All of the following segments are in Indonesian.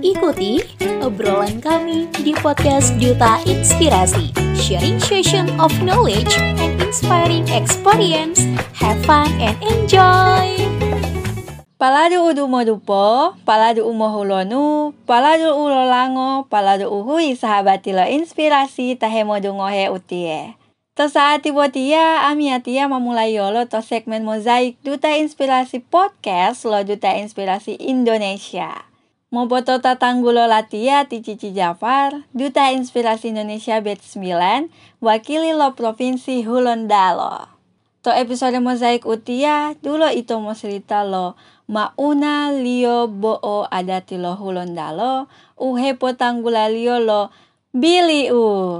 Ikuti obrolan kami di podcast Duta Inspirasi, sharing session of knowledge and inspiring experience. Have fun and enjoy! Paladu udu modupo, paladu umohulonu, paladu ulolango, paladu uhui sahabatilo inspirasi tahemodu ngohe utie. To saat tibotia, amiatia memulai yolo to segmen mozaik Duta Inspirasi Podcast lo Duta Inspirasi Indonesia. Moboto tatanggulo latia ti Cici Jafar, Duta Inspirasi Indonesia batch 9, wakili lo Provinsi Hulondalo. To episode mozaik utia, dulu itu mau cerita lo mauna lio bo'o adati lo Hulondalo, uhepo tanggula lio lo biliu.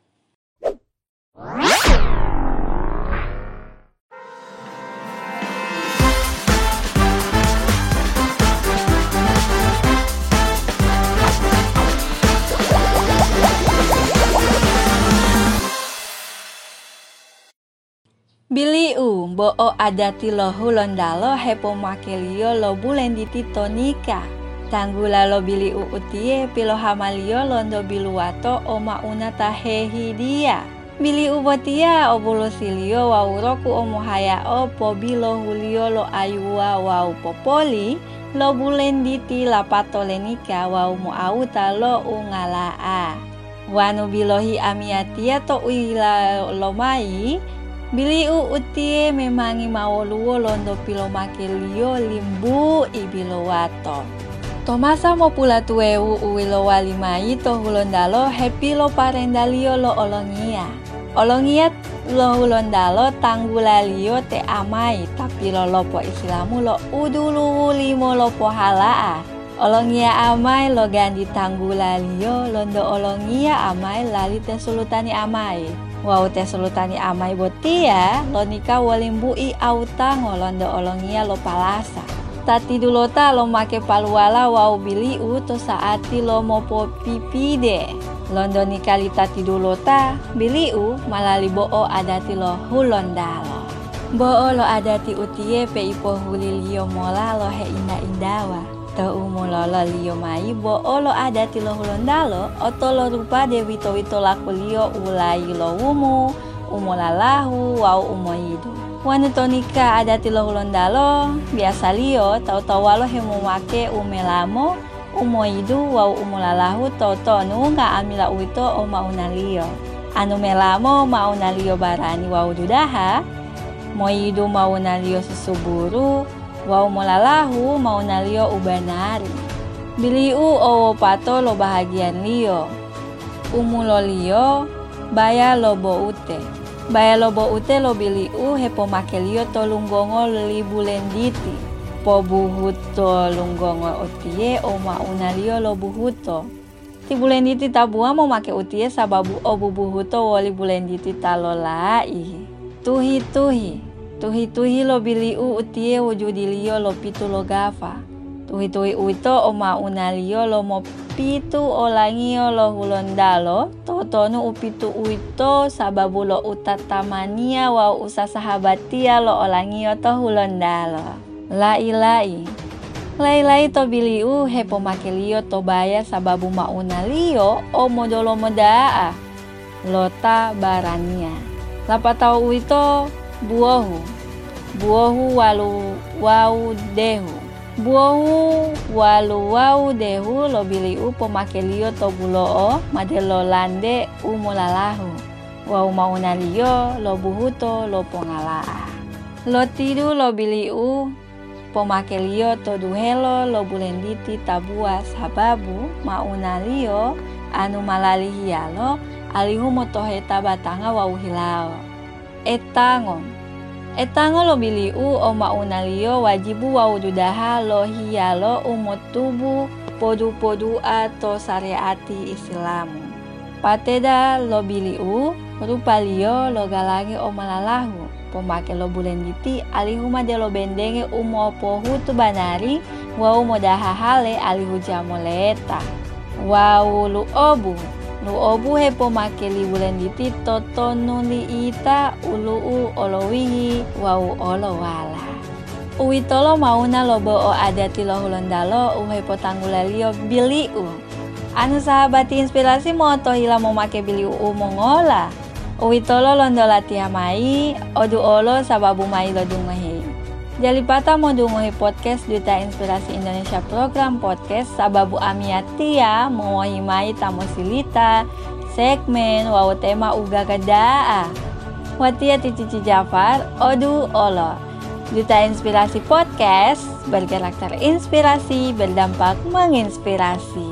Biliu bo'o adati lo Hulondalo hepo makelio lo bulenditi tonika. Tanggula lo biliu utie pilo hamalio londo biluato o mauna tahehi dia. Biliu botia o bulusilio wauroku o mohaya o pobilo hulio lo ayua wau popoli lo bulenditi lapato lenika wau moauta lo ungalaa. Wanu bilohi amiatia to uila lo mai. Biliu utie memangi mawoluo londo pilo makelio limbu ibilowato. Tomasa mo pula tueu uwilo walimai to Hulondalo happy lo parendalio lo olongia. Olongia lo Hulondalo tanggulalio te amai tapi lo lopo islamu lo udulu limo lopo halaa. Olongia amai lo gandi tanggulalio londo olongia amai lali te sulutani amai. Wau te sulutani amai botia lo nika walimbui auta ngolondo olongia lo palasa. Tati dulota lo make paluala wau biliu to saati lo mopo pipide. Londo nika li tati dulota biliu malali bo'o adati lo Hulondalo. Bo'o lo adati utie pe ipo hulilio mola lo he inda-indawa. To umulolo lio mai bo'o lo adati lo Hulondalo oto lo rupa de wito-wito laku lio ulai lo umulalahu wau umoidu. Wanu tonika adati lo Hulondalo biasa lio tau-tau walo hemu make umelamo umoidu wau umulalahu tonu nga amila uito o mauna lio. Anu melamo mauna lio barani wau dudaha, moidu mauna lio susuburu, wau mulalahu mauna lio ubanari. Biliu o pato lo bahagian lio. Umulo lio baya lo boute. Baya lo boute lo biliu hepo make lio to lunggongo li bulenditi. Po buhuto lunggongo utie o mauna lio lo buhuto. Ti bulenditi tabua mo make utie sababu o bubuhuto woli bulenditi talolai. Tuhi lo biliu utie wujudi lio lo pitu lo gafa. Tuhi uito o mauna lio lo mo pitu olangio lo Hulondalo. Totonu upitu uito sababu lo utatamania wa usa sahabatia lo olangio to Hulondalo. Lai to biliu hepo make lio to baya sababu mauna lio o modolo modaa. Lota barania. Lapatau uito buohu walu wau dehu. Buohu walu wau dehu lo biliu pomake lio to buloo madelo lande umulalahu. Wau mauna lio lo buhuto lo pongalaa. Lo tidu lo biliu pomake lio to duhelo lo bulenditi tabua sababu mauna lio anu malali hialo alihu motoheta batanga wau hilao. Etango lo biliu o mauna lio wajibu wau dudaha lo hialo umotubu podu atau syariati Islamu. Pateda lo biliu rupa lio lo galangi o malalahu. Pomake lo bulenditi alihuma de lo bendenge umo pohutu banari wau modaha hale alihu jamoleta. Wau lu obu he pomake li bulenditi totonu li ita ulu olowihi wau olowala. Uitolo mauna lobo o adati lohulondalo uhe potanggulalio biliu. Anu sahabati inspirasi moto hila memake biliu mongola. Uitolo londola tia mai, odu olo sababu mai lodungehe. Jalipata mau dungohi podcast Duta Inspirasi Indonesia program podcast sababu amiatia mengohimai tamu silita segmen wawo tema uga kedaa. Watia Cici Jafar, odu olo. Duta Inspirasi podcast berkarakter inspirasi berdampak menginspirasi.